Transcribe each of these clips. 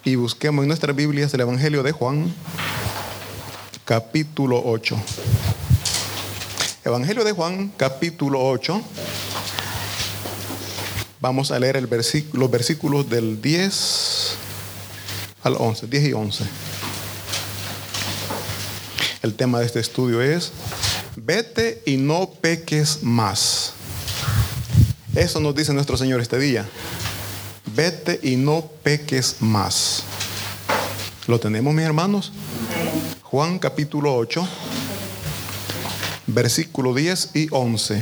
y busquemos en nuestras Biblias el Evangelio de Juan, capítulo 8. Evangelio de Juan, capítulo 8. Vamos a leer los versículos del 10 al 11, 10 y 11. El tema de este estudio es: vete y no peques más. Eso nos dice nuestro Señor este día. Vete y no peques más. ¿Lo tenemos, mis hermanos? Juan capítulo 8, versículo 10 y 11.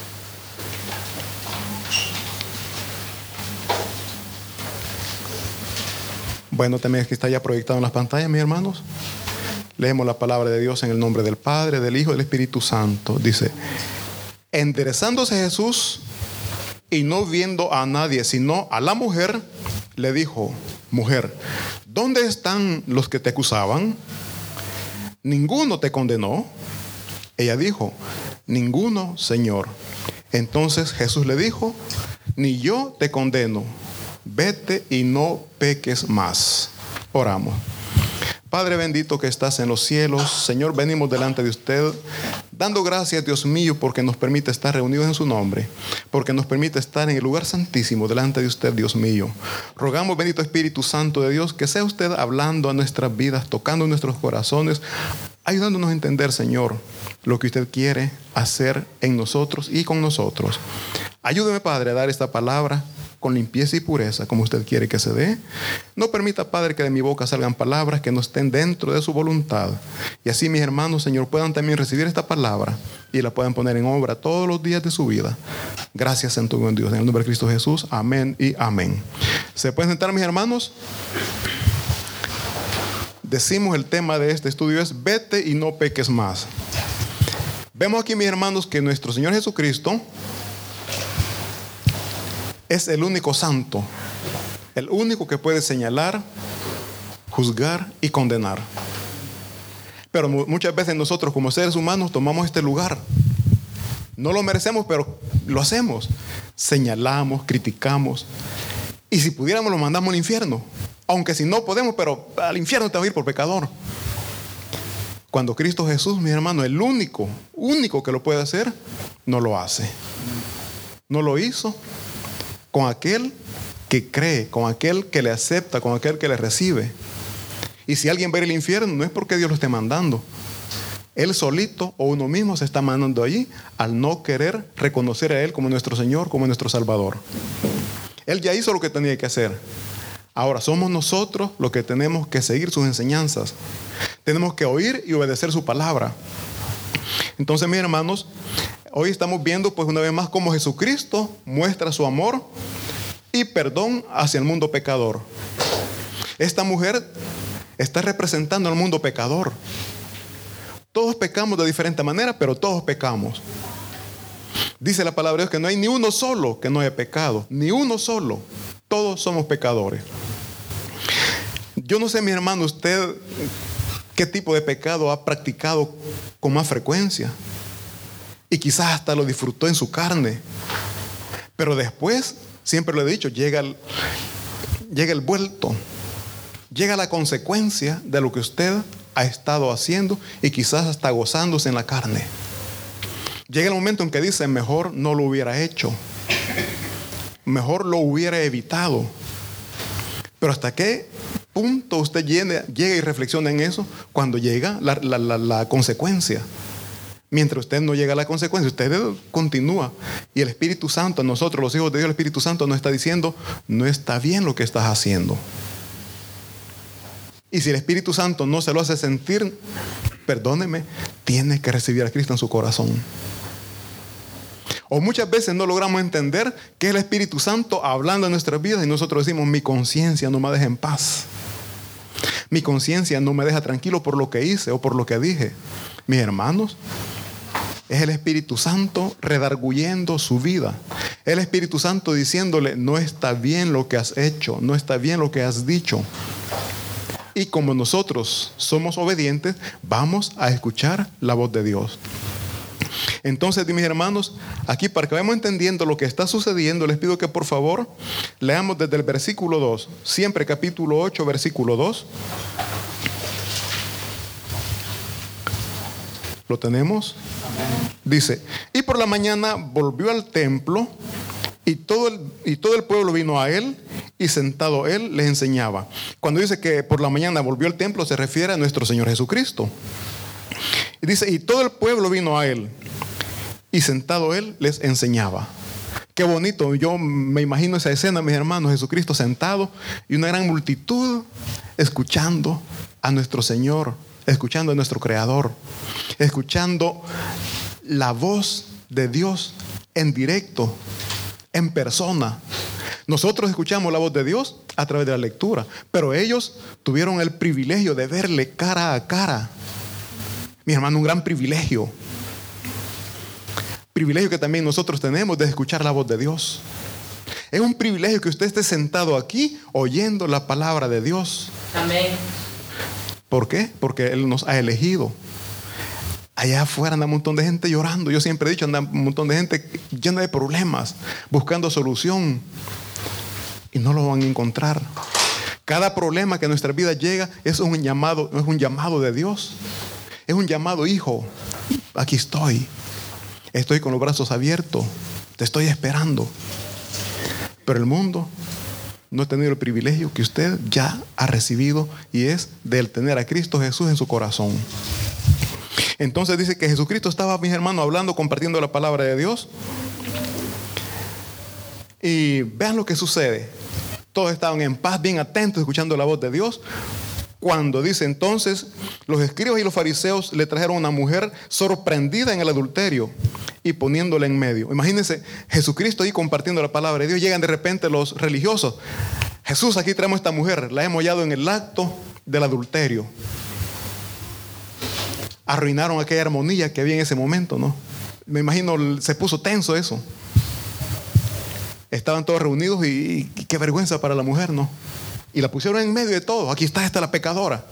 Bueno, también aquí está ya proyectado en las pantallas, mis hermanos. Leemos la palabra de Dios en el nombre del Padre, del Hijo y del Espíritu Santo. Dice: enderezándose Jesús y no viendo a nadie sino a la mujer, le dijo: mujer, ¿dónde están los que te acusaban? ¿Ninguno te condenó? Ella dijo: ninguno, Señor. Entonces Jesús le dijo: ni yo te condeno. Vete y no peques más. Oramos. Padre bendito que estás en los cielos, Señor, venimos delante de usted dando gracias, Dios mío, porque nos permite estar reunidos en su nombre, porque nos permite estar en el lugar santísimo delante de usted, Dios mío. Rogamos, bendito Espíritu Santo de Dios, que sea usted hablando a nuestras vidas, tocando nuestros corazones, ayudándonos a entender, Señor, lo que usted quiere hacer en nosotros y con nosotros. Ayúdeme, Padre, a dar esta palabra con limpieza y pureza, como usted quiere que se dé. No permita, Padre, que de mi boca salgan palabras que no estén dentro de su voluntad. Y así mis hermanos, Señor, puedan también recibir esta palabra y la puedan poner en obra todos los días de su vida. Gracias, Santo buen Dios. En el nombre de Cristo Jesús. Amén y amén. ¿Se pueden sentar, mis hermanos? Decimos, el tema de este estudio es: vete y no peques más. Vemos aquí, mis hermanos, que nuestro Señor Jesucristo es el único santo, el único que puede señalar, juzgar y condenar. Pero muchas veces nosotros como seres humanos tomamos este lugar. No lo merecemos, pero lo hacemos. Señalamos, criticamos. Y si pudiéramos, lo mandamos al infierno. Aunque si no podemos, pero al infierno te va a ir por pecador. Cuando Cristo Jesús, mi hermano, el único que lo puede hacer, no lo hace. No lo hizo con aquel que cree, con aquel que le acepta, con aquel que le recibe. Y si alguien va a ir al infierno, no es porque Dios lo esté mandando. Él solito o uno mismo se está mandando allí al no querer reconocer a Él como nuestro Señor, como nuestro Salvador. Él ya hizo lo que tenía que hacer. Ahora somos nosotros los que tenemos que seguir sus enseñanzas. Tenemos que oír y obedecer su palabra. Entonces, mis hermanos, hoy estamos viendo pues una vez más cómo Jesucristo muestra su amor y perdón hacia el mundo pecador. Esta mujer está representando al mundo pecador. Todos pecamos de diferente manera, pero todos pecamos. Dice la palabra de Dios que no hay ni uno solo que no haya pecado, ni uno solo. Todos somos pecadores. Yo no sé, mi hermano, usted qué tipo de pecado ha practicado con más frecuencia. Y quizás hasta lo disfrutó en su carne. Pero después, siempre lo he dicho, llega el vuelto. Llega la consecuencia de lo que usted ha estado haciendo y quizás hasta gozándose en la carne. Llega el momento en que dice: mejor no lo hubiera hecho. Mejor lo hubiera evitado. Pero ¿hasta qué punto usted llega y reflexiona en eso? Cuando llega la consecuencia. Mientras usted no llega a la consecuencia, usted continúa. Y el Espíritu Santo, a nosotros los hijos de Dios, el Espíritu Santo nos está diciendo: no está bien lo que estás haciendo. Y si el Espíritu Santo no se lo hace sentir, perdóneme, tiene que recibir a Cristo en su corazón. O muchas veces no logramos entender que es el Espíritu Santo hablando en nuestras vidas y nosotros decimos: mi conciencia no me deja en paz. Mi conciencia no me deja tranquilo por lo que hice o por lo que dije. Mis hermanos, es el Espíritu Santo redarguyendo su vida. Es el Espíritu Santo diciéndole: no está bien lo que has hecho, no está bien lo que has dicho. Y como nosotros somos obedientes, vamos a escuchar la voz de Dios. Entonces, mis hermanos, aquí para que vayamos entendiendo lo que está sucediendo, les pido que por favor leamos desde el versículo 2, siempre capítulo 8, versículo 2. ¿Lo tenemos? Dice, y por la mañana volvió al templo y todo el pueblo vino a él y sentado él les enseñaba. Cuando dice que por la mañana volvió al templo, se refiere a nuestro Señor Jesucristo. Y dice, y todo el pueblo vino a él y sentado él les enseñaba. Qué bonito, yo me imagino esa escena, mis hermanos, Jesucristo sentado y una gran multitud escuchando a nuestro Señor, escuchando a nuestro Creador, escuchando la voz de Dios en directo, en persona. Nosotros escuchamos la voz de Dios a través de la lectura, pero ellos tuvieron el privilegio de verle cara a cara. Mi hermano, un gran privilegio. Privilegio que también nosotros tenemos de escuchar la voz de Dios. Es un privilegio que usted esté sentado aquí oyendo la palabra de Dios. Amén. ¿Por qué? Porque Él nos ha elegido. Allá afuera anda un montón de gente llorando. Yo siempre he dicho, anda un montón de gente llena de problemas, buscando solución. Y no lo van a encontrar. Cada problema que a nuestra vida llega es un llamado de Dios. Es un llamado, hijo, aquí estoy. Estoy con los brazos abiertos. Te estoy esperando. Pero el mundo no ha tenido el privilegio que usted ya ha recibido, y es de tener a Cristo Jesús en su corazón. Entonces dice que Jesucristo estaba, mis hermanos, hablando, compartiendo la palabra de Dios. Y vean lo que sucede. Todos estaban en paz, bien atentos, escuchando la voz de Dios. Cuando dice entonces, los escribas y los fariseos le trajeron a una mujer sorprendida en el adulterio y poniéndola en medio. Imagínense, Jesucristo ahí compartiendo la palabra de Dios. Llegan de repente los religiosos. Jesús, aquí traemos a esta mujer, la hemos hallado en el acto del adulterio. Arruinaron aquella armonía que había en ese momento, ¿no? Me imagino, se puso tenso eso. Estaban todos reunidos y qué vergüenza para la mujer, ¿no? Y la pusieron en medio de todo. Aquí está esta la pecadora.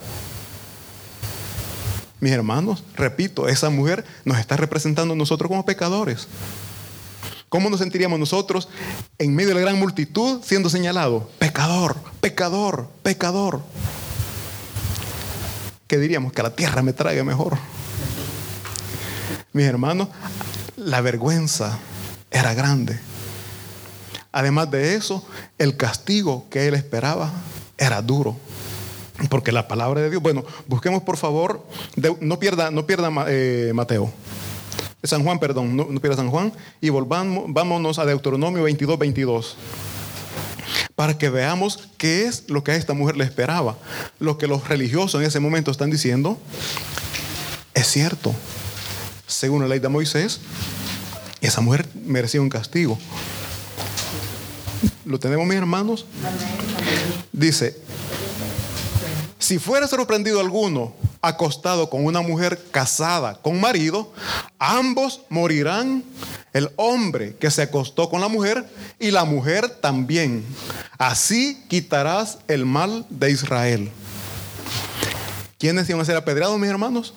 Mis hermanos, repito, esa mujer nos está representando a nosotros como pecadores. ¿Cómo nos sentiríamos nosotros en medio de la gran multitud siendo señalados? Pecador, pecador, pecador. ¿Qué diríamos? Que la tierra me trague mejor. Mis hermanos, la vergüenza era grande. Además de eso, el castigo que él esperaba era duro. Porque la palabra de Dios, bueno, busquemos por favor, no pierda Mateo. San Juan, perdón, no pierda San Juan. Y vámonos a Deuteronomio 22:22. Para que veamos qué es lo que a esta mujer le esperaba. Lo que los religiosos en ese momento están diciendo es cierto. Según la ley de Moisés, esa mujer merecía un castigo. ¿Lo tenemos, mis hermanos? Dice, si fuera sorprendido alguno acostado con una mujer casada con marido, ambos morirán, el hombre que se acostó con la mujer y la mujer también. Así quitarás el mal de Israel. ¿Quiénes iban a ser apedreados, mis hermanos?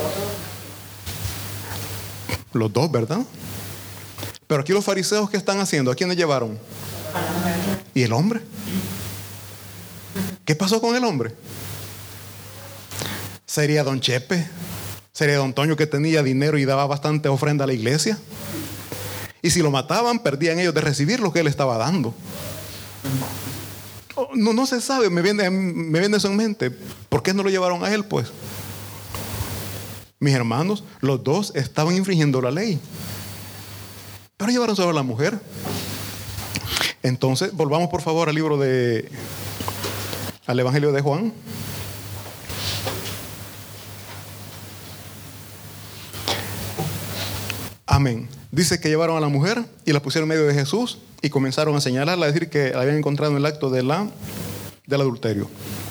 Los dos, ¿verdad? Pero aquí los fariseos, ¿qué están haciendo? ¿A quiénes llevaron? ¿Y el hombre? ¿Qué pasó con el hombre? ¿Sería don Chepe? ¿Sería don Toño, que tenía dinero y daba bastante ofrenda a la iglesia? Y si lo mataban, perdían ellos de recibir lo que él estaba dando. No se sabe, me viene eso en mente. ¿Por qué no lo llevaron a él, pues? Mis hermanos, los dos estaban infringiendo la ley, pero llevaron solo a la mujer. Entonces, volvamos por favor al Evangelio de Juan. Amén. Dice que llevaron a la mujer y la pusieron en medio de Jesús y comenzaron a señalarla, a decir que la habían encontrado en el acto del adulterio.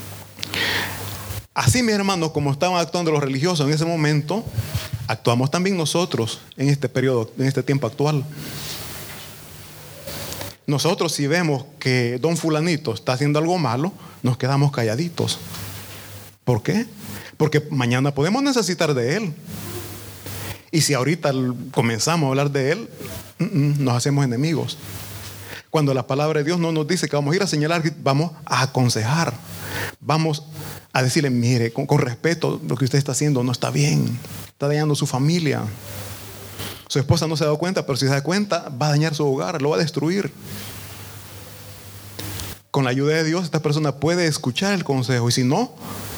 Así, mis hermanos, como estaban actuando los religiosos en ese momento, actuamos también nosotros en este periodo, en este tiempo actual. Nosotros, si vemos que don fulanito está haciendo algo malo, nos quedamos calladitos. ¿Por qué? Porque mañana podemos necesitar de él. Y si ahorita comenzamos a hablar de Él, nos hacemos enemigos. Cuando la palabra de Dios no nos dice que vamos a ir a señalar, vamos a aconsejar. Vamos a decirle, mire, con respeto, lo que usted está haciendo no está bien. Está dañando su familia. Su esposa no se ha dado cuenta, pero si se da cuenta, va a dañar su hogar, lo va a destruir. Con la ayuda de Dios, esta persona puede escuchar el consejo. Y si no,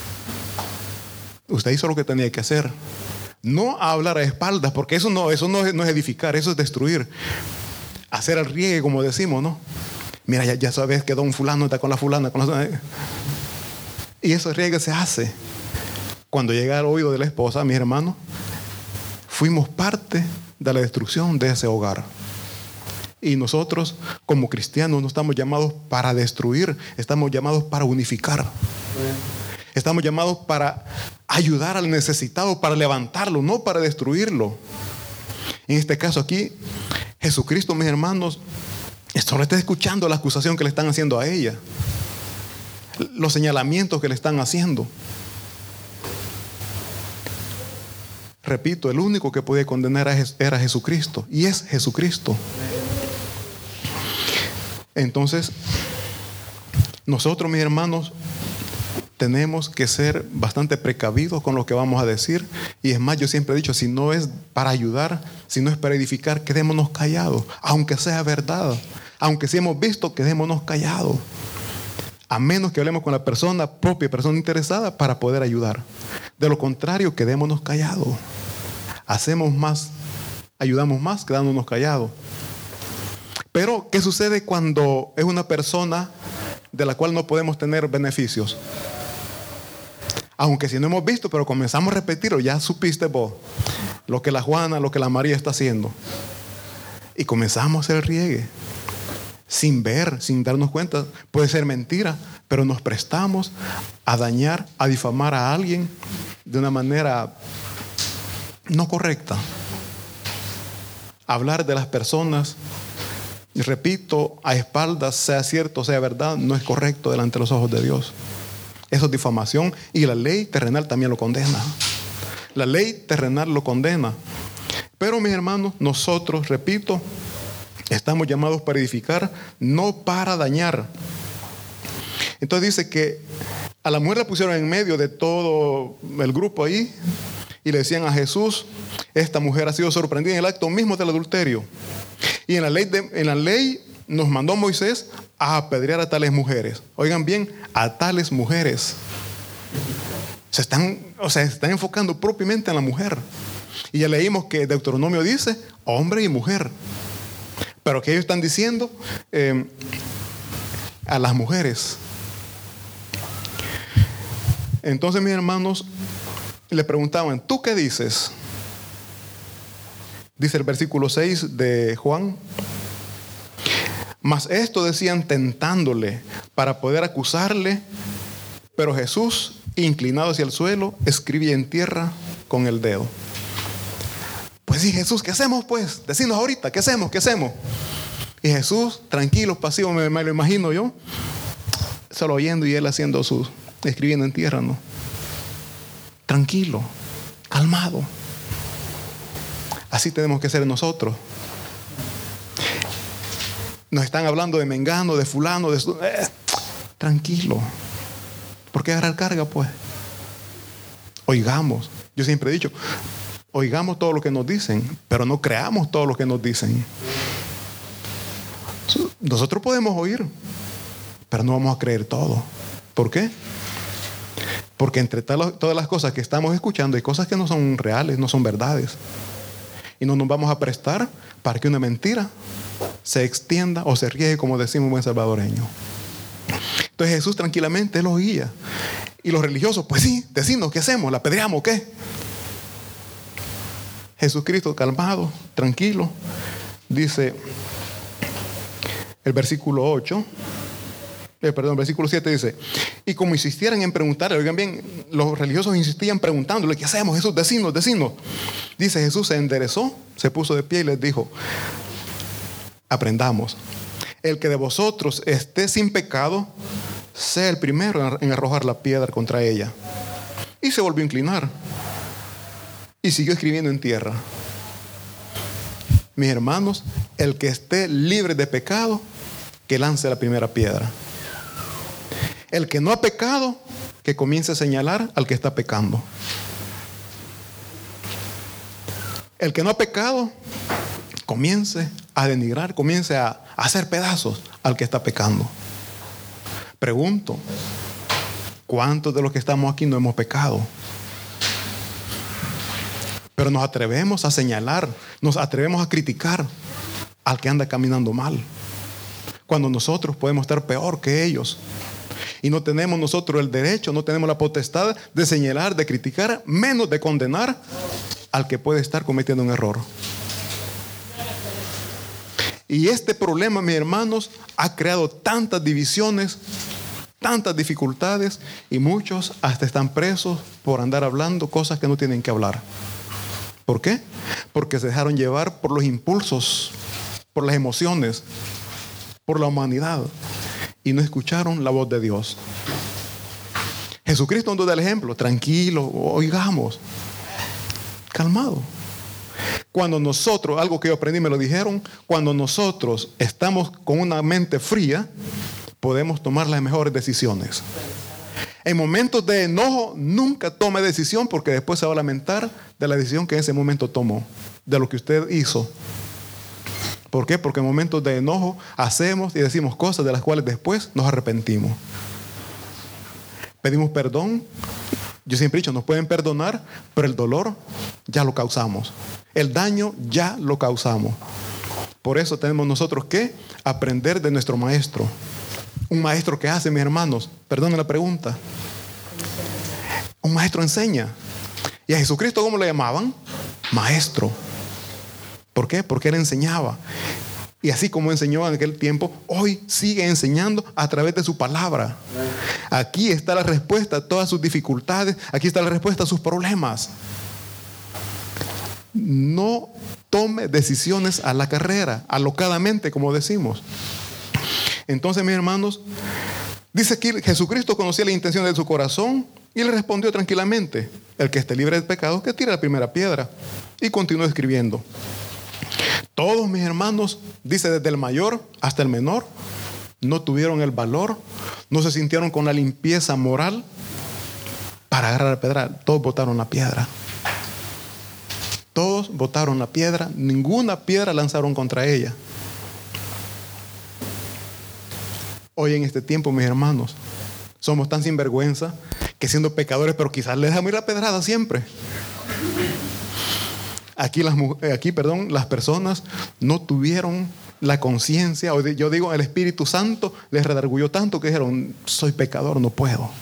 usted hizo lo que tenía que hacer. No hablar a espaldas, porque eso no es edificar, eso es destruir. Hacer el riegue, como decimos, ¿no? Mira, ya sabes que don fulano está con la fulana. Y ese riegue se hace. Cuando llega al oído de la esposa, mis hermanos, fuimos parte de la destrucción de ese hogar. Y nosotros, como cristianos, no estamos llamados para destruir, estamos llamados para unificar. Estamos llamados para ayudar al necesitado, para levantarlo, no para destruirlo. En este caso aquí, Jesucristo, mis hermanos, solo está escuchando la acusación que le están haciendo a ella, los señalamientos que le están haciendo. Repito, el único que podía condenar era Jesucristo, y es Jesucristo. Entonces, nosotros, mis hermanos, tenemos que ser bastante precavidos con lo que vamos a decir. Y es más, yo siempre he dicho, si no es para ayudar, si no es para edificar, quedémonos callados, aunque sea verdad. Aunque sí hemos visto, quedémonos callados. A menos que hablemos con la persona propia, persona interesada, para poder ayudar. De lo contrario, quedémonos callados. Hacemos más, ayudamos más quedándonos callados. Pero, ¿qué sucede cuando es una persona de la cual no podemos tener beneficios? Aunque si no hemos visto, pero comenzamos a repetirlo, ya supiste vos lo que la Juana, lo que la María está haciendo. Y comenzamos a hacer el riegue. Sin ver, sin darnos cuenta. Puede ser mentira, pero nos prestamos a dañar, a difamar a alguien de una manera no correcta. Hablar de las personas, y repito, a espaldas, sea cierto, sea verdad, no es correcto delante de los ojos de Dios. Eso es difamación, y la ley terrenal también lo condena. La ley terrenal lo condena. Pero, mis hermanos, nosotros, repito, estamos llamados para edificar, no para dañar. Entonces dice que a la mujer la pusieron en medio de todo el grupo ahí y le decían a Jesús, esta mujer ha sido sorprendida en el acto mismo del adulterio. Y en la ley nos mandó Moisés a apedrear a tales mujeres. Oigan bien, a tales mujeres. Se están enfocando propiamente en la mujer. Y ya leímos que Deuteronomio dice hombre y mujer. Pero que ellos están diciendo a las mujeres. Entonces, mis hermanos, le preguntaban, ¿tú qué dices? Dice el versículo 6 de Juan. Mas esto decían tentándole para poder acusarle. Pero Jesús, inclinado hacia el suelo, escribía en tierra con el dedo. Pues sí, Jesús, ¿qué hacemos pues? Decinos ahorita, ¿qué hacemos? ¿Qué hacemos? Y Jesús, tranquilo, pasivo, me lo imagino yo, solo oyendo y él haciendo escribiendo en tierra, ¿no? Tranquilo, calmado. Así tenemos que ser nosotros. Nos están hablando de mengano, de fulano, tranquilo. ¿Por qué agarrar carga, pues? Oigamos. Yo siempre he dicho, oigamos todo lo que nos dicen, pero no creamos todo lo que nos dicen. Nosotros podemos oír, pero no vamos a creer todo. ¿Por qué? Porque entre todas las cosas que estamos escuchando hay cosas que no son reales, no son verdades. Y no nos vamos a prestar para que una mentira se extienda o se riegue, como decimos en buen salvadoreño. Entonces Jesús tranquilamente, él oía. Y los religiosos, pues sí, decimos, ¿qué hacemos? ¿La apedreamos o qué? Jesucristo calmado, tranquilo, dice el versículo 8, versículo 7 dice, y como insistieran en preguntarle, oigan bien, los religiosos insistían preguntándole, ¿qué hacemos, Jesús? Decinos. Dice Jesús, se enderezó, se puso de pie y les dijo, aprendamos, el que de vosotros esté sin pecado, sea el primero en arrojar la piedra contra ella. Y se volvió a inclinar y siguió escribiendo en tierra. mis hermanos, el que esté libre de pecado, que lance la primera piedra. El que no ha pecado, que comience a señalar al que está pecando. El que no ha pecado, comience a denigrar, comience a hacer pedazos al que está pecando. Pregunto, ¿cuántos de los que estamos aquí no hemos pecado? Pero nos atrevemos a señalar, nos atrevemos a criticar al que anda caminando mal, cuando nosotros podemos estar peor que ellos. Y no tenemos nosotros el derecho, no tenemos la potestad de señalar, de criticar, menos de condenar al que puede estar cometiendo un error. Y este problema, mis hermanos, ha creado tantas divisiones, tantas dificultades, y muchos hasta están presos por andar hablando cosas que no tienen que hablar. ¿Por qué? Porque se dejaron llevar por los impulsos, por las emociones, por la humanidad, y no escucharon la voz de Dios. Jesucristo nos da el ejemplo: tranquilo, oigamos, calmado. Cuando nosotros, algo que yo aprendí, me lo dijeron, cuando nosotros estamos con una mente fría, podemos tomar las mejores decisiones. En momentos de enojo, nunca tome decisión, porque después se va a lamentar de la decisión que en ese momento tomó, de lo que usted hizo. ¿Por qué? Porque en momentos de enojo hacemos y decimos cosas de las cuales después nos arrepentimos. Pedimos perdón. Yo siempre he dicho, nos pueden perdonar, pero el dolor ya lo causamos. El daño ya lo causamos. Por eso tenemos nosotros que aprender de nuestro maestro. Un maestro que hace, mis hermanos, perdonen la pregunta. Un maestro enseña. ¿Y a Jesucristo cómo le llamaban? Maestro. ¿Por qué? Porque él enseñaba. Y así como enseñó en aquel tiempo, hoy sigue enseñando a través de su palabra. Aquí está la respuesta a todas sus dificultades. Aquí está la respuesta a sus problemas. No tome decisiones a la carrera, alocadamente, como decimos. Entonces, mis hermanos, dice aquí, Jesucristo conocía la intención de su corazón y le respondió tranquilamente: el que esté libre de pecado, que tire la primera piedra. Y continuó escribiendo. Todos, mis hermanos, dice desde el mayor hasta el menor, no tuvieron el valor, no se sintieron con la limpieza moral para agarrar la piedra. Todos botaron la piedra. Todos botaron la piedra, ninguna piedra lanzaron contra ella. Hoy en este tiempo, mis hermanos, somos tan sinvergüenza que siendo pecadores, pero quizás les dejamos ir la pedrada siempre. Aquí las personas no tuvieron la conciencia, o yo digo, el Espíritu Santo les redarguyó tanto que dijeron: soy pecador, no puedo.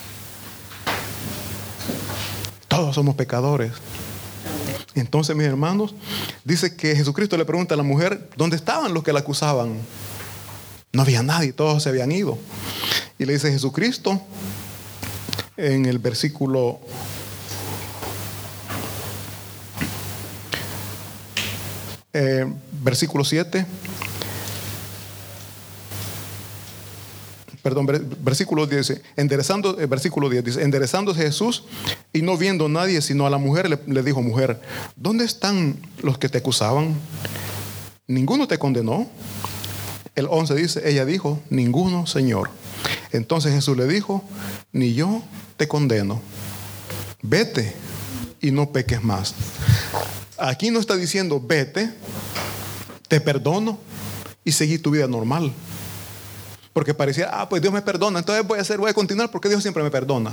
Todos somos pecadores. Entonces, mis hermanos, dice que Jesucristo le pregunta a la mujer: ¿dónde estaban los que la acusaban? No había nadie, todos se habían ido. Y le dice Jesucristo en el versículo 7, versículo 10, versículo 10 dice: enderezándose Jesús y no viendo a nadie sino a la mujer, le dijo: mujer, ¿dónde están los que te acusaban? ¿Ninguno te condenó? El 11 dice: ella dijo: ninguno, Señor. Entonces Jesús le dijo: ni yo te condeno. Vete y no peques más. Aquí no está diciendo: vete, te perdono y seguí tu vida normal. Porque parecía: pues Dios me perdona, entonces voy a continuar porque Dios siempre me perdona.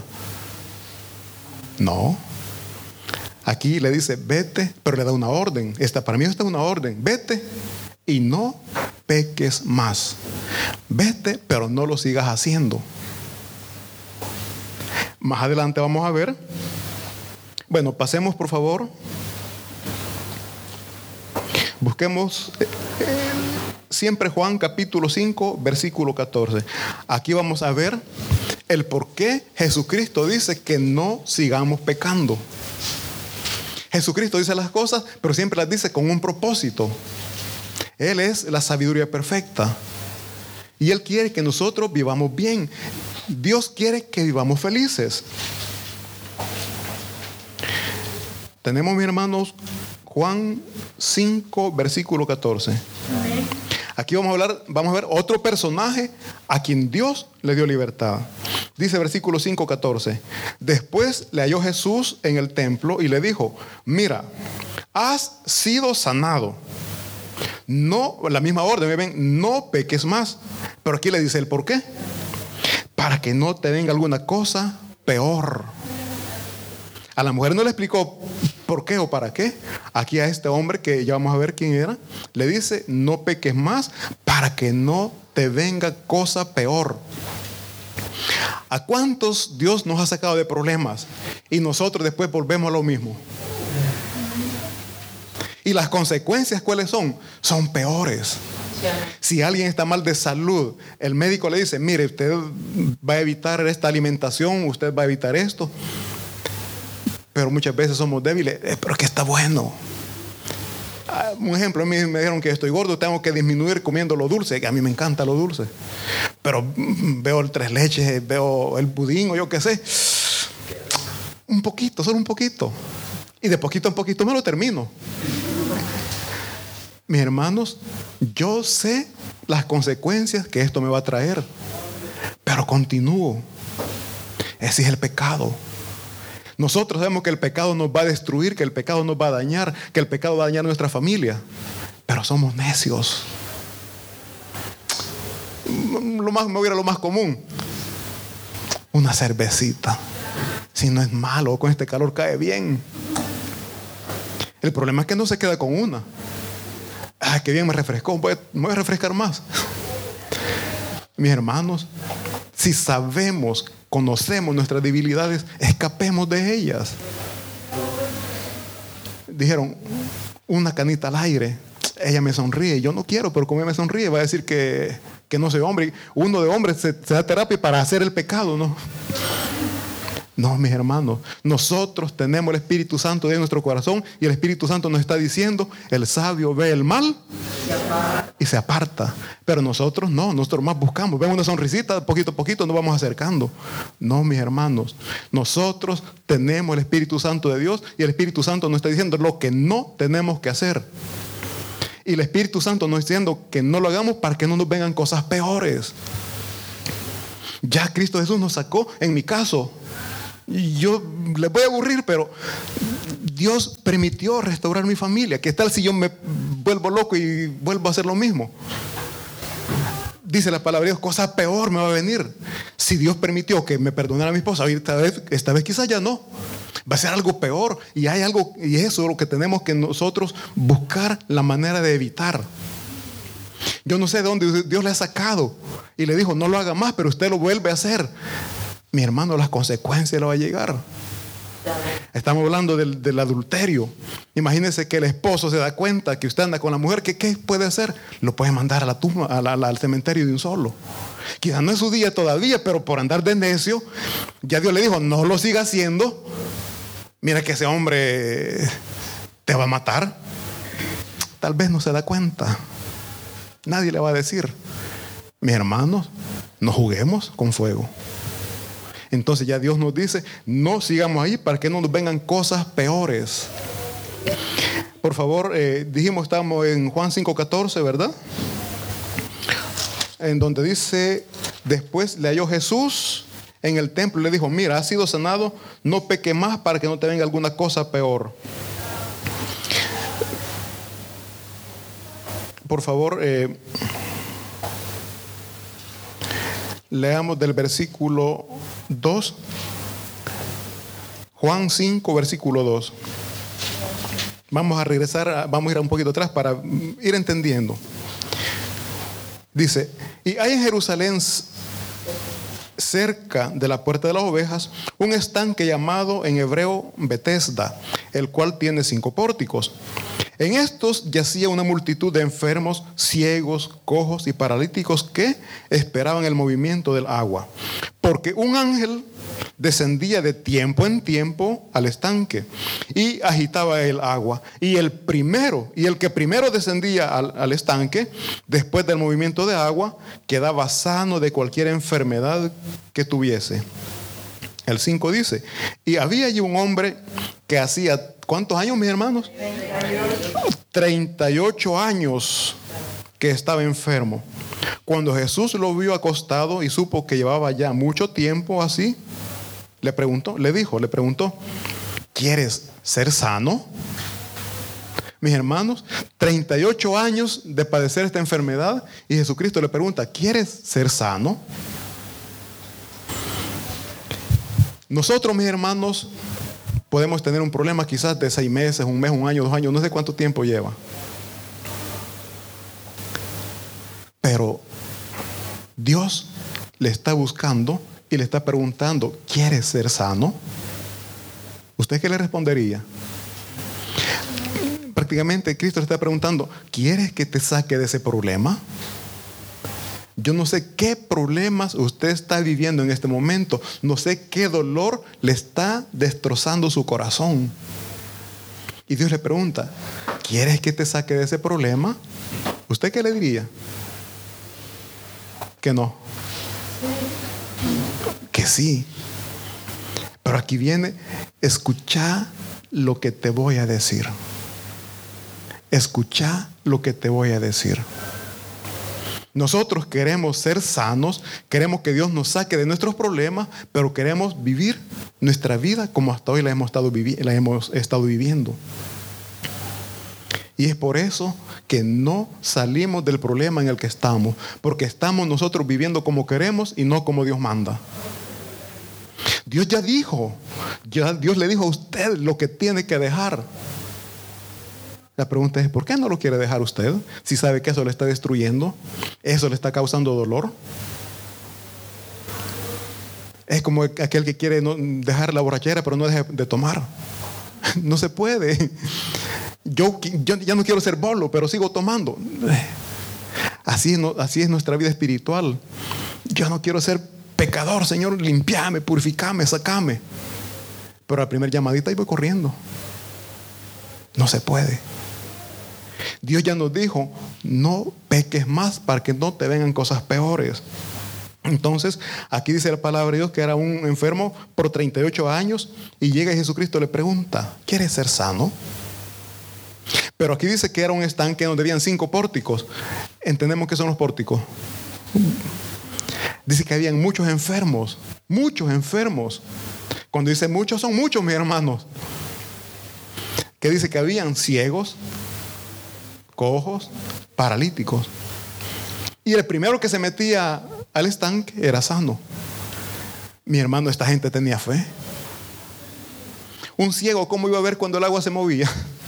No. Aquí le dice: vete, pero le da una orden. Para mí esta es una orden: vete y no peques más. Vete, pero no lo sigas haciendo. Más adelante vamos a ver. Bueno, pasemos por favor. Busquemos siempre Juan capítulo 5, versículo 14. Aquí vamos a ver el por qué Jesucristo dice que no sigamos pecando. Jesucristo dice las cosas, pero siempre las dice con un propósito. Él es la sabiduría perfecta. Y Él quiere que nosotros vivamos bien. Dios quiere que vivamos felices. Tenemos, mis hermanos, Juan 5, versículo 14. Amén. Aquí vamos a ver otro personaje a quien Dios le dio libertad. Dice versículo 5, 14. Después le halló Jesús en el templo y le dijo: mira, has sido sanado. No, la misma orden, ven, no peques más. Pero aquí le dice el por qué. Para que no te venga alguna cosa peor. A la mujer no le explicó por qué o para qué. Aquí a este hombre, que ya vamos a ver quién era, le dice: no peques más para que no te venga cosa peor. ¿A cuántos Dios nos ha sacado de problemas y nosotros después volvemos a lo mismo? Y las consecuencias, ¿cuáles son? Son peores. Si alguien está mal de salud, el médico le dice: mire, usted va a evitar esta alimentación, usted va a evitar esto. Pero muchas veces somos débiles. Pero que está bueno. Un ejemplo, a mí me dijeron que estoy gordo, tengo que disminuir comiendo lo dulce. A mí me encanta lo dulce. Pero veo el tres leches, veo el pudín o yo qué sé. Un poquito, solo un poquito. Y de poquito en poquito me lo termino. Mis hermanos, yo sé las consecuencias que esto me va a traer. Pero continúo. Ese es el pecado. Nosotros sabemos que el pecado nos va a destruir, que el pecado nos va a dañar, que el pecado va a dañar a nuestra familia. Pero somos necios. Me voy a ir a lo más común. Una cervecita. Si no es malo, con este calor cae bien. El problema es que no se queda con una. Qué bien me refrescó. Me voy a refrescar más. Mis hermanos, si sabemos, conocemos nuestras debilidades, escapemos de ellas. Dijeron: una canita al aire. Ella me sonríe. Yo no quiero, pero como ella me sonríe, va a decir que no soy hombre. Uno de hombres se da terapia para hacer el pecado, ¿no? No, mis hermanos, nosotros tenemos el Espíritu Santo en nuestro corazón y el Espíritu Santo nos está diciendo: el sabio ve el mal y se aparta. Pero nosotros no, nosotros más buscamos. Ven una sonrisita, poquito a poquito nos vamos acercando. No, mis hermanos, nosotros tenemos el Espíritu Santo de Dios y el Espíritu Santo nos está diciendo lo que no tenemos que hacer. Y el Espíritu Santo nos está diciendo que no lo hagamos para que no nos vengan cosas peores. Ya Cristo Jesús nos sacó, en mi caso. Yo les voy a aburrir, pero Dios permitió restaurar mi familia. ¿Qué tal si yo me vuelvo loco y vuelvo a hacer lo mismo? Dice la palabra de Dios: cosa peor me va a venir. Si Dios permitió que me perdonara a mi esposa, esta vez quizás ya no. Va a ser algo peor. Y hay algo, y eso es lo que tenemos que nosotros buscar la manera de evitar. Yo no sé de dónde Dios le ha sacado y le dijo: no lo haga más, pero usted lo vuelve a hacer. Mi hermano, las consecuencias le va a llegar. Estamos hablando del adulterio. Imagínese que el esposo se da cuenta que usted anda con la mujer. ¿Qué puede hacer? Lo puede mandar a la tumba, al cementerio de un solo. Quizás no es su día todavía, pero por andar de necio, ya Dios le dijo: no lo siga haciendo. Mira que ese hombre te va a matar. Tal vez no se da cuenta. Nadie le va a decir. Mis hermanos, no juguemos con fuego. Entonces ya Dios nos dice: no sigamos ahí para que no nos vengan cosas peores. Por favor, dijimos, estamos en Juan 5:14, ¿verdad? En donde dice: después le halló Jesús en el templo y le dijo: mira, has sido sanado, no peque más para que no te venga alguna cosa peor. Por favor, leamos del versículo 2. Juan 5, versículo 2. Vamos a regresar, vamos a ir un poquito atrás para ir entendiendo. Dice: y hay en Jerusalén, cerca de la puerta de las ovejas, un estanque llamado en hebreo Betesda, el cual tiene 5 pórticos. En estos yacía una multitud de enfermos, ciegos, cojos y paralíticos que esperaban el movimiento del agua, porque un ángel descendía de tiempo en tiempo al estanque y agitaba el agua. Y el que primero descendía al estanque, después del movimiento de agua, quedaba sano de cualquier enfermedad que tuviese. El 5 dice: y había allí un hombre que hacía ¿cuántos años, mis hermanos? 38 años que estaba enfermo. Cuando Jesús lo vio acostado y supo que llevaba ya mucho tiempo así, le preguntó, ¿quieres ser sano? Mis hermanos, 38 años de padecer esta enfermedad y Jesucristo le pregunta, ¿quieres ser sano? Nosotros, mis hermanos, podemos tener un problema quizás de 6 meses, 1 mes, 1 año, 2 años, no sé cuánto tiempo lleva. Pero Dios le está buscando y le está preguntando, ¿quieres ser sano? ¿Usted qué le respondería? Prácticamente Cristo le está preguntando, ¿quieres que te saque de ese problema? Yo no sé qué problemas usted está viviendo en este momento. No sé qué dolor le está destrozando su corazón. Y Dios le pregunta, ¿quieres que te saque de ese problema? ¿Usted qué le diría? Que no. Que sí. Pero aquí viene, escucha lo que te voy a decir. Escucha lo que te voy a decir. Nosotros queremos ser sanos, queremos que Dios nos saque de nuestros problemas, pero queremos vivir nuestra vida como hasta hoy la hemos estado viviendo. Y es por eso que no salimos del problema en el que estamos, porque estamos nosotros viviendo como queremos y no como Dios manda. Dios ya dijo, Dios le dijo a usted lo que tiene que dejar. La pregunta es, ¿por qué no lo quiere dejar usted? Si sabe que eso le está destruyendo, eso le está causando dolor. Es como aquel que quiere dejar la borrachera, pero no deja de tomar. No se puede. Yo ya no quiero ser bolo, pero sigo tomando. Así es nuestra vida espiritual. Yo no quiero ser pecador, Señor, limpiame, purificame, sacame. Pero a la primera llamadita ahí voy corriendo. No se puede. Dios ya nos dijo, no peques más para que no te vengan cosas peores. Entonces, aquí dice la palabra de Dios que era un enfermo por 38 años y llega Jesucristo y le pregunta, ¿quieres ser sano? Pero aquí dice que era un estanque donde habían 5 pórticos. ¿Entendemos qué son los pórticos? Dice que habían muchos enfermos. Muchos enfermos. Cuando dice muchos, son muchos, mis hermanos. Que dice que habían ciegos, cojos, paralíticos. Y el primero que se metía al estanque era sano. Mi hermano, esta gente tenía fe. Un ciego, ¿cómo iba a ver cuando el agua se movía?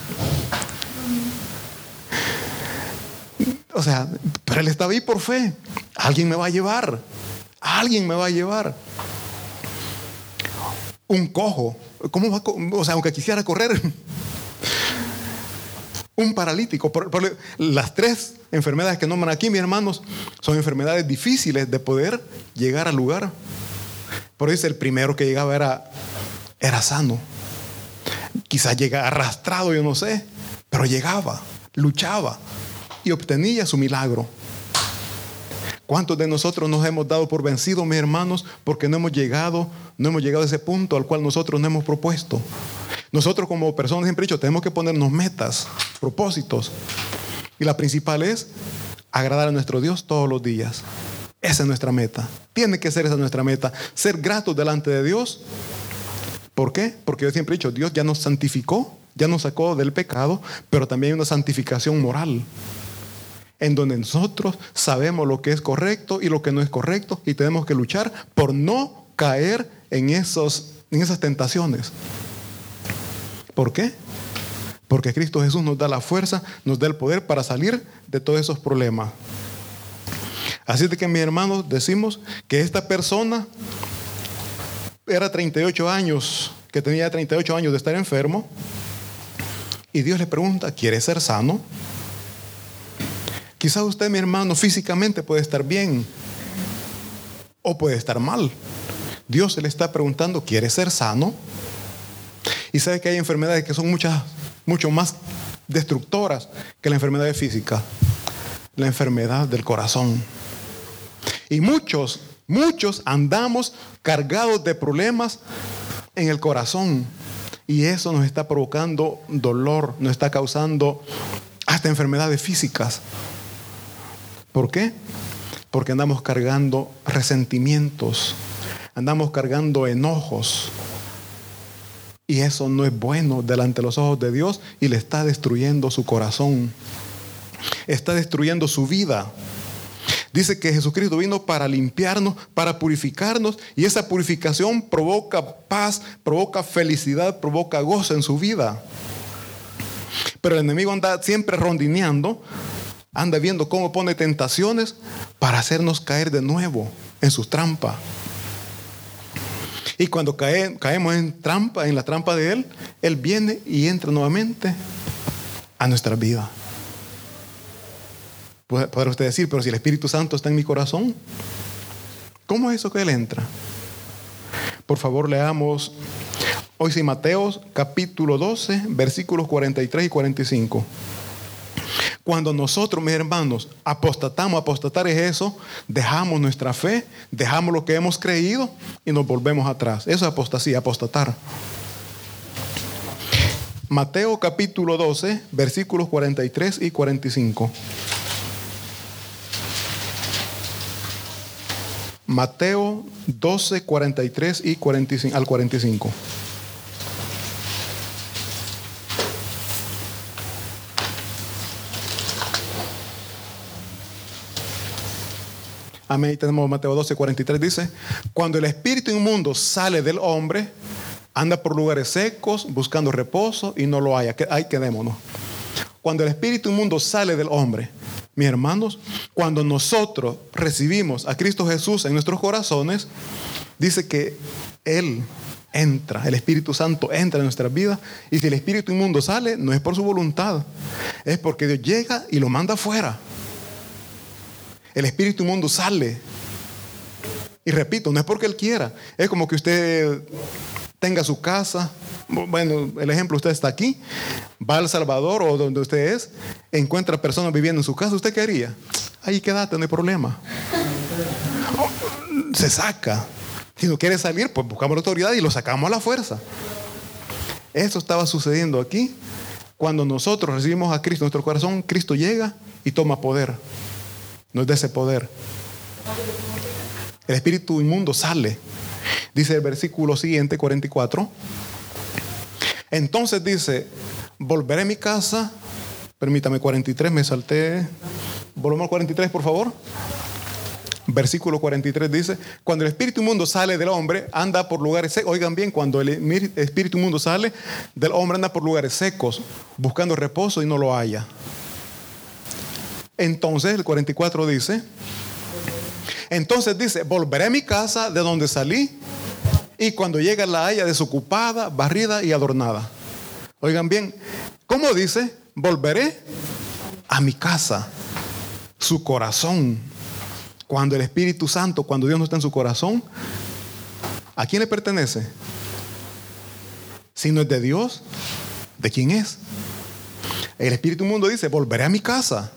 O sea, pero él estaba ahí por fe. Alguien me va a llevar. Alguien me va a llevar. Un cojo, ¿cómo va a, o sea, aunque quisiera correr? Un paralítico. Por las 3 enfermedades que nombran aquí, mis hermanos, son enfermedades difíciles de poder llegar al lugar. Por eso el primero que llegaba era sano. Quizás llegaba arrastrado, yo no sé, pero llegaba, luchaba y obtenía su milagro. ¿Cuántos de nosotros nos hemos dado por vencidos, mis hermanos, porque no hemos llegado a ese punto al cual nosotros nos hemos propuesto? Nosotros como personas, siempre he dicho, tenemos que ponernos metas, propósitos. Y la principal es agradar a nuestro Dios todos los días. Esa es nuestra meta. Tiene que ser esa nuestra meta. Ser gratos delante de Dios. ¿Por qué? Porque yo siempre he dicho, Dios ya nos santificó, ya nos sacó del pecado, pero también hay una santificación moral. En donde nosotros sabemos lo que es correcto y lo que no es correcto. Y tenemos que luchar por no caer en esas tentaciones. ¿Por qué? Porque Cristo Jesús nos da la fuerza, nos da el poder para salir de todos esos problemas. Así de que, mis hermanos, decimos que esta persona era 38 años, que tenía 38 años de estar enfermo. Y Dios le pregunta, ¿quieres ser sano? Quizás usted, mi hermano, físicamente puede estar bien o puede estar mal. Dios se le está preguntando, ¿quieres ser sano? Y sabe que hay enfermedades que son mucho más destructoras que la enfermedad física. La enfermedad del corazón. Y muchos andamos cargados de problemas en el corazón. Y eso nos está provocando dolor, nos está causando hasta enfermedades físicas. ¿Por qué? Porque andamos cargando resentimientos, andamos cargando enojos. Y eso no es bueno delante de los ojos de Dios y le está destruyendo su corazón. Está destruyendo su vida. Dice que Jesucristo vino para limpiarnos, para purificarnos, y esa purificación provoca paz, provoca felicidad, provoca gozo en su vida. Pero el enemigo anda siempre rondineando, anda viendo cómo pone tentaciones para hacernos caer de nuevo en sus trampas. Y cuando caemos en la trampa de Él, Él viene y entra nuevamente a nuestra vida. Podrá usted decir, pero si el Espíritu Santo está en mi corazón, ¿cómo es eso que Él entra? Por favor, leamos hoy sí Mateo capítulo 12, versículos 43 y 45. Cuando nosotros, mis hermanos, apostatar es eso, dejamos nuestra fe, dejamos lo que hemos creído y nos volvemos atrás. Eso es apostasía, apostatar. Mateo capítulo 12, versículos 43 y 45. Mateo 12, 43 y 45, al 45. Amén. Tenemos Mateo 12, 43. Dice: cuando el espíritu inmundo sale del hombre, anda por lugares secos buscando reposo y no lo haya. Ahí quedémonos. Cuando el espíritu inmundo sale del hombre, mis hermanos, cuando nosotros recibimos a Cristo Jesús en nuestros corazones, dice que Él entra, el Espíritu Santo entra en nuestras vidas. Y si el espíritu inmundo sale, no es por su voluntad, es porque Dios llega y lo manda afuera. El espíritu inmundo sale. Y repito, no es porque Él quiera. Es como que usted tenga su casa. Bueno, el ejemplo, usted está aquí, va a El Salvador o donde usted es, encuentra personas viviendo en su casa. ¿Usted qué haría? Ahí quédate, no hay problema. Se saca. Si no quiere salir, pues buscamos la autoridad y lo sacamos a la fuerza. Eso estaba sucediendo aquí. Cuando nosotros recibimos a Cristo en nuestro corazón, Cristo llega y toma poder. Nos da ese poder. El espíritu inmundo sale. Dice el versículo siguiente, 44. Entonces dice: volveré a mi casa. Permítame, 43, me salté. Volvemos al 43, por favor. Versículo 43 dice: cuando el espíritu inmundo sale del hombre, anda por lugares secos. Oigan bien, cuando el espíritu inmundo sale del hombre, anda por lugares secos, buscando reposo y no lo halla. Entonces el 44 dice: entonces dice, volveré a mi casa de donde salí, y cuando llega la haya desocupada, barrida y adornada. Oigan bien, ¿cómo dice? Volveré a mi casa, su corazón. Cuando el Espíritu Santo, cuando Dios no está en su corazón, ¿a quién le pertenece? Si no es de Dios, ¿de quién es? El espíritu inmundo dice: volveré a mi casa.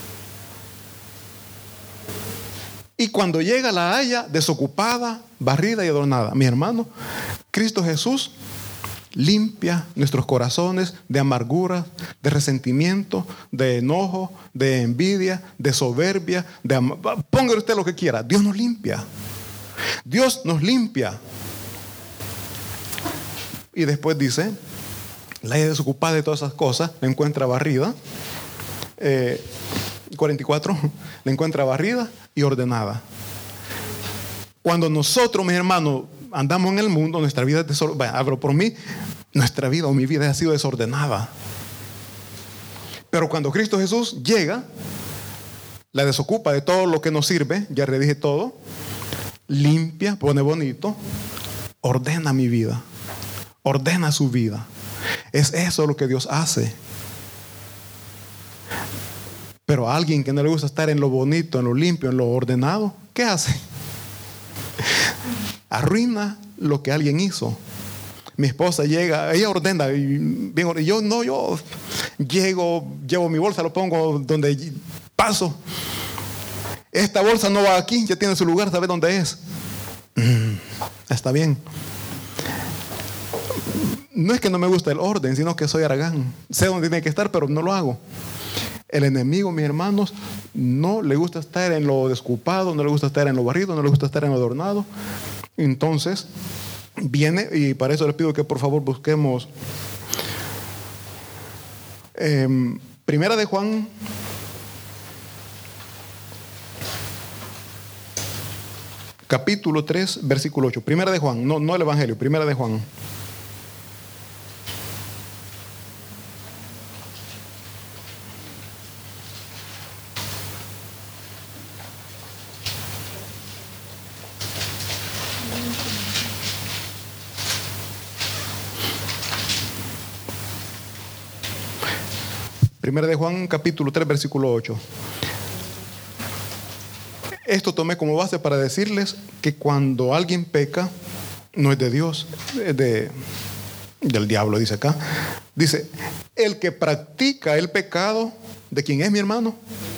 Y cuando llega la haya desocupada, barrida y adornada. Mi hermano, Cristo Jesús limpia nuestros corazones de amargura, de resentimiento, de enojo, de envidia, de soberbia, póngale usted lo que quiera. Dios nos limpia. Dios nos limpia. Y después dice: la haya desocupada de todas esas cosas, la encuentra barrida. 44, la encuentra barrida y ordenada. Cuando nosotros, mis hermanos, andamos en el mundo, nuestra vida es desordenada. Hablo por mí, nuestra vida o mi vida ha sido desordenada. Pero cuando Cristo Jesús llega, la desocupa de todo lo que nos sirve, ya le dije todo, limpia, pone bonito, ordena mi vida, ordena su vida. Es eso lo que Dios hace. Pero a alguien que no le gusta estar en lo bonito, en lo limpio, en lo ordenado, ¿qué hace? Arruina lo que alguien hizo. Mi esposa llega, ella ordena, y yo llego, llevo mi bolsa, lo pongo donde paso. Esta bolsa no va aquí, ya tiene su lugar, sabe dónde es. Está bien. No es que no me gusta el orden, sino que soy aragán. Sé dónde tiene que estar, pero no lo hago. El enemigo, mis hermanos, no le gusta estar en lo desocupado, no le gusta estar en lo barrido, no le gusta estar en lo adornado. Entonces, viene, y para eso les pido que por favor busquemos Primera de Juan, capítulo 3, versículo 8. Primera de Juan, no el Evangelio, Primera de Juan. Primera de Juan, capítulo 3, versículo 8. Esto tomé como base para decirles que cuando alguien peca, no es de Dios, es del diablo, dice acá. Dice, el que practica el pecado, ¿de quién es, mi hermano?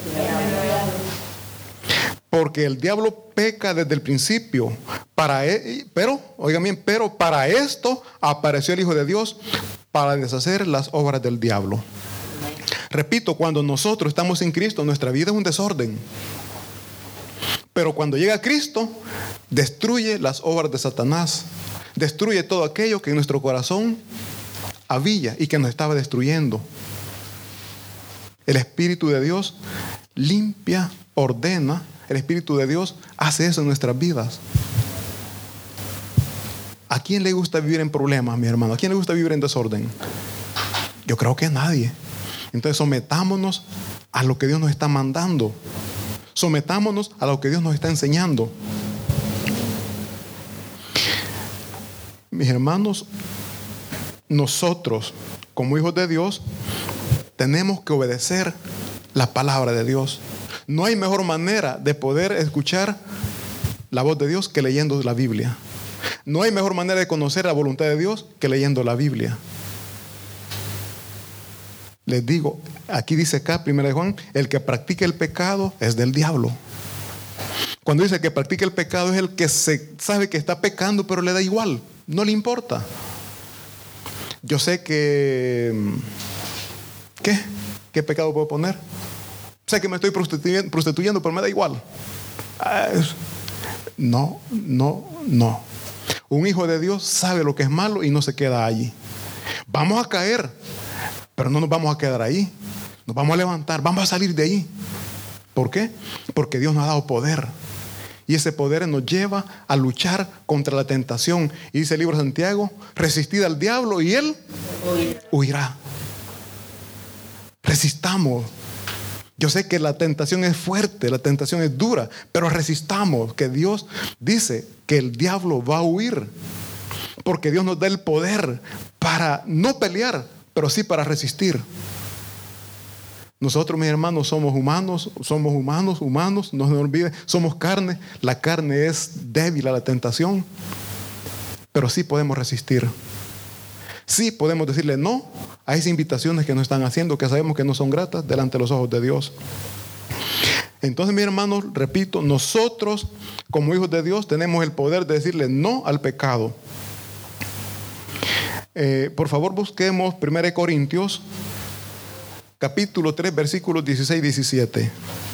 Porque el diablo peca desde el principio. Pero, oigan bien, pero para esto apareció el Hijo de Dios para deshacer las obras del diablo. Repito, cuando nosotros estamos sin Cristo, nuestra vida es un desorden. Pero cuando llega Cristo, destruye las obras de Satanás. Destruye todo aquello que en nuestro corazón había y que nos estaba destruyendo. El Espíritu de Dios limpia, ordena. El Espíritu de Dios hace eso en nuestras vidas. ¿A quién le gusta vivir en problemas, mi hermano? ¿A quién le gusta vivir en desorden? Yo creo que a nadie. Entonces sometámonos a lo que Dios nos está mandando. Sometámonos a lo que Dios nos está enseñando. Mis hermanos, nosotros como hijos de Dios tenemos que obedecer la palabra de Dios. No hay mejor manera de poder escuchar la voz de Dios que leyendo la Biblia. No hay mejor manera de conocer la voluntad de Dios que leyendo la Biblia. Les digo, aquí dice acá, 1 Juan, el que practica el pecado es del diablo. Cuando dice que practica el pecado es el que sabe que está pecando, pero le da igual, no le importa. Yo sé que... ¿Qué pecado puedo poner? Sé que me estoy prostituyendo, pero me da igual. No. Un hijo de Dios sabe lo que es malo y no se queda allí. Vamos a caer, pero no nos vamos a quedar ahí. Nos vamos a levantar, vamos a salir de ahí. ¿Por qué? Porque Dios nos ha dado poder. Y ese poder nos lleva a luchar contra la tentación. Y dice el libro de Santiago, resistid al diablo y él huirá. Resistamos. Yo sé que la tentación es fuerte, la tentación es dura, pero resistamos, que Dios dice que el diablo va a huir. Porque Dios nos da el poder para no pelear, pero sí para resistir. Nosotros, mis hermanos, somos humanos, no se nos olvide, somos carne. La carne es débil a la tentación, pero sí podemos resistir. Sí podemos decirle no a esas invitaciones que nos están haciendo, que sabemos que no son gratas delante de los ojos de Dios. Entonces, mis hermanos, repito, nosotros como hijos de Dios tenemos el poder de decirle no al pecado. Por favor, busquemos 1 Corintios capítulo 3, versículos 16 y 17.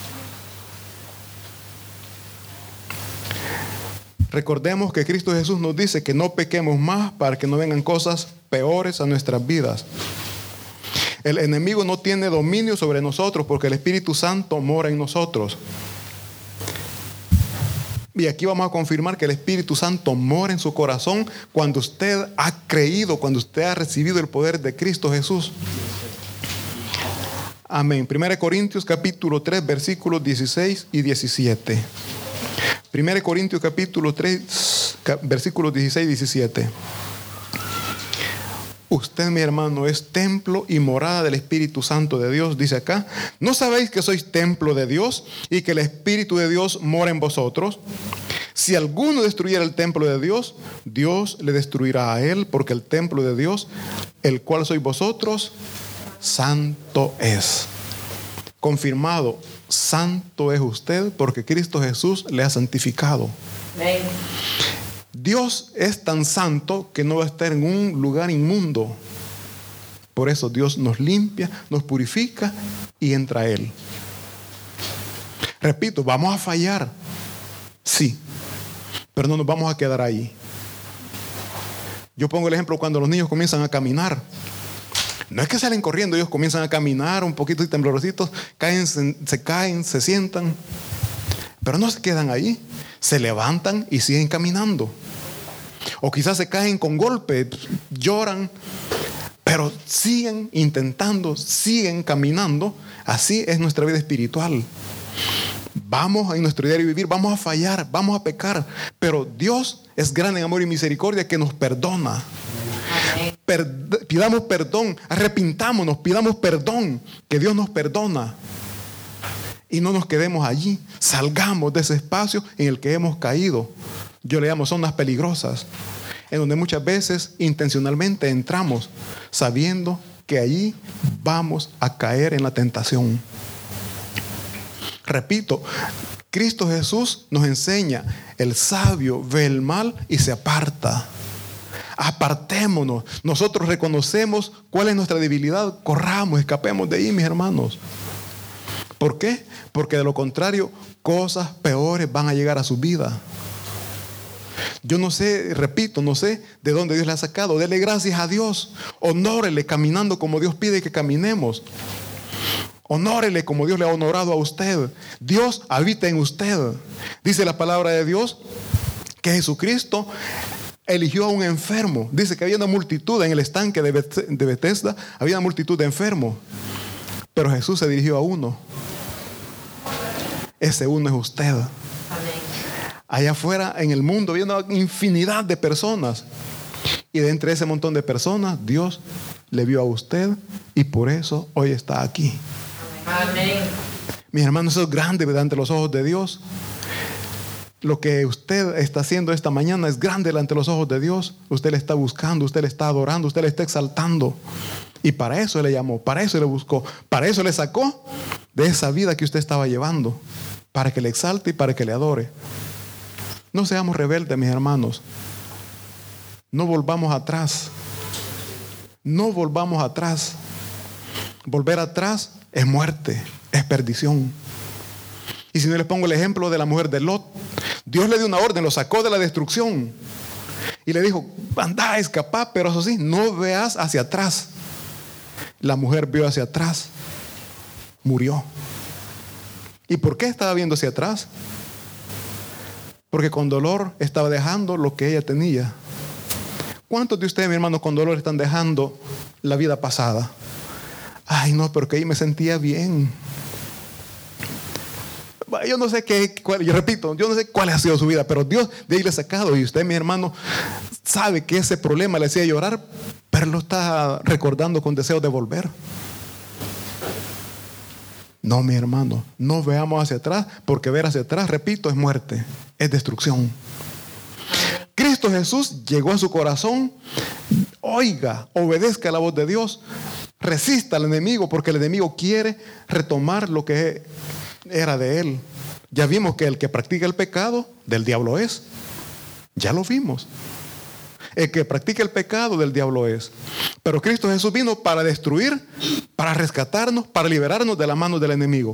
Recordemos que Cristo Jesús nos dice que no pequemos más para que no vengan cosas peores a nuestras vidas. El enemigo no tiene dominio sobre nosotros porque el Espíritu Santo mora en nosotros. Y aquí vamos a confirmar que el Espíritu Santo mora en su corazón cuando usted ha creído, cuando usted ha recibido el poder de Cristo Jesús. Amén. 1 Corintios capítulo 3, versículos 16 y 17. 1 Corintios capítulo 3, versículos 16 y 17. Usted, mi hermano, es templo y morada del Espíritu Santo de Dios. Dice acá, ¿no sabéis que sois templo de Dios y que el Espíritu de Dios mora en vosotros? Si alguno destruyera el templo de Dios, Dios le destruirá a él, porque el templo de Dios, el cual sois vosotros, santo es. Confirmado, santo es usted porque Cristo Jesús le ha santificado. Amén. Dios es tan santo que no va a estar en un lugar inmundo. Por eso Dios nos limpia, nos purifica y entra a Él. Repito, vamos a fallar. Sí, pero no nos vamos a quedar ahí. Yo pongo el ejemplo cuando los niños comienzan a caminar. No es que salen corriendo, ellos comienzan a caminar un poquito y temblorositos, se caen, se sientan, pero no se quedan ahí, se levantan y siguen caminando. O quizás se caen con golpe, lloran, pero siguen intentando, siguen caminando. Así es nuestra vida espiritual. Vamos en nuestro diario vivir, vamos a fallar, vamos a pecar, pero Dios es grande en amor y misericordia que nos perdona. Pidamos perdón, arrepintámonos, pidamos perdón, que Dios nos perdona. Y no nos quedemos allí, salgamos de ese espacio en el que hemos caído. Yo le llamo zonas peligrosas, en donde muchas veces intencionalmente entramos sabiendo que allí vamos a caer en la tentación. Repito, Cristo Jesús nos enseña, el sabio ve el mal y se aparta. Apartémonos. Nosotros reconocemos cuál es nuestra debilidad. Corramos, escapemos de ahí, mis hermanos. ¿Por qué? Porque de lo contrario, cosas peores van a llegar a su vida. Yo no sé, repito, no sé de dónde Dios le ha sacado. Dele gracias a Dios. Honórele caminando como Dios pide que caminemos. Honórele como Dios le ha honorado a usted. Dios habita en usted. Dice la palabra de Dios que Jesucristo eligió a un enfermo. Dice que había una multitud en el estanque de Betesda. Había una multitud de enfermos. Pero Jesús se dirigió a uno. Ese uno es usted. Allá afuera en el mundo había una infinidad de personas. Y de entre ese montón de personas, Dios le vio a usted y por eso hoy está aquí. Amén. Mis hermanos, eso es grande delante de los ojos de Dios. Lo que usted está haciendo esta mañana es grande delante de los ojos de Dios. Usted le está buscando, usted le está adorando, usted le está exaltando. Y para eso le llamó, para eso le buscó, para eso le sacó de esa vida que usted estaba llevando, para que le exalte y para que le adore. No seamos rebeldes, mis hermanos. No volvamos atrás. No volvamos atrás. Volver atrás es muerte, es perdición. Y si no les pongo el ejemplo de la mujer de Lot, Dios le dio una orden, lo sacó de la destrucción y le dijo, anda, escapá, pero eso sí, no veas hacia atrás. La mujer vio hacia atrás, murió. ¿Y por qué estaba viendo hacia atrás? Porque con dolor estaba dejando lo que ella tenía. ¿Cuántos de ustedes, mi hermano, con dolor están dejando la vida pasada? Ay, no, porque ahí me sentía bien. Yo no sé yo repito, yo no sé cuál ha sido su vida, pero Dios de ahí le ha sacado. Y usted, mi hermano, sabe que ese problema le hacía llorar, pero lo está recordando con deseo de volver. No, mi hermano, no veamos hacia atrás, porque ver hacia atrás, repito, es muerte, es destrucción. Cristo Jesús llegó a su corazón. Oiga, obedezca la voz de Dios. Resista al enemigo, porque el enemigo quiere retomar lo que era de él. Ya vimos que el que practica el pecado del diablo es. Ya lo vimos. El que practica el pecado del diablo es. Pero Cristo Jesús vino para destruir, para rescatarnos, para liberarnos de las manos del enemigo.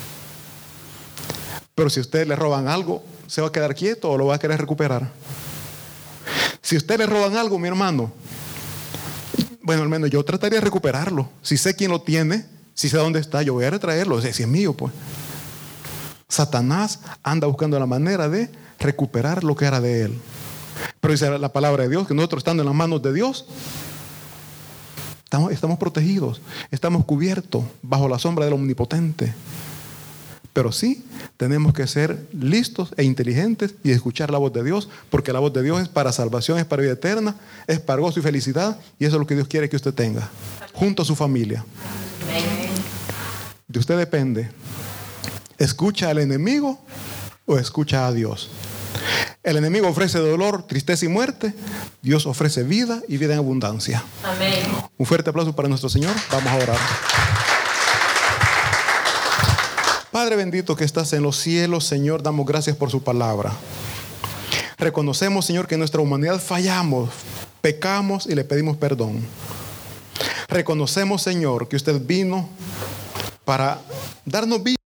Pero si a usted le roban algo, ¿se va a quedar quieto o lo va a querer recuperar? Si a usted le roban algo, mi hermano, bueno, al menos yo trataría de recuperarlo. Si sé quién lo tiene, si sé dónde está, yo voy a retraerlo. O sea, si es mío, pues. Satanás anda buscando la manera de recuperar lo que era de él. Pero dice la palabra de Dios que nosotros, estando en las manos de Dios, estamos protegidos, estamos cubiertos bajo la sombra del Omnipotente. Pero sí, tenemos que ser listos e inteligentes y escuchar la voz de Dios, porque la voz de Dios es para salvación, es para vida eterna, es para gozo y felicidad, y eso es lo que Dios quiere que usted tenga, junto a su familia. De usted depende. ¿Escucha al enemigo o escucha a Dios? El enemigo ofrece dolor, tristeza y muerte. Dios ofrece vida y vida en abundancia. Amén. Un fuerte aplauso para nuestro Señor. Vamos a orar. Padre bendito que estás en los cielos, Señor, damos gracias por su palabra. Reconocemos, Señor, que en nuestra humanidad fallamos, pecamos y le pedimos perdón. Reconocemos, Señor, que usted vino para darnos vida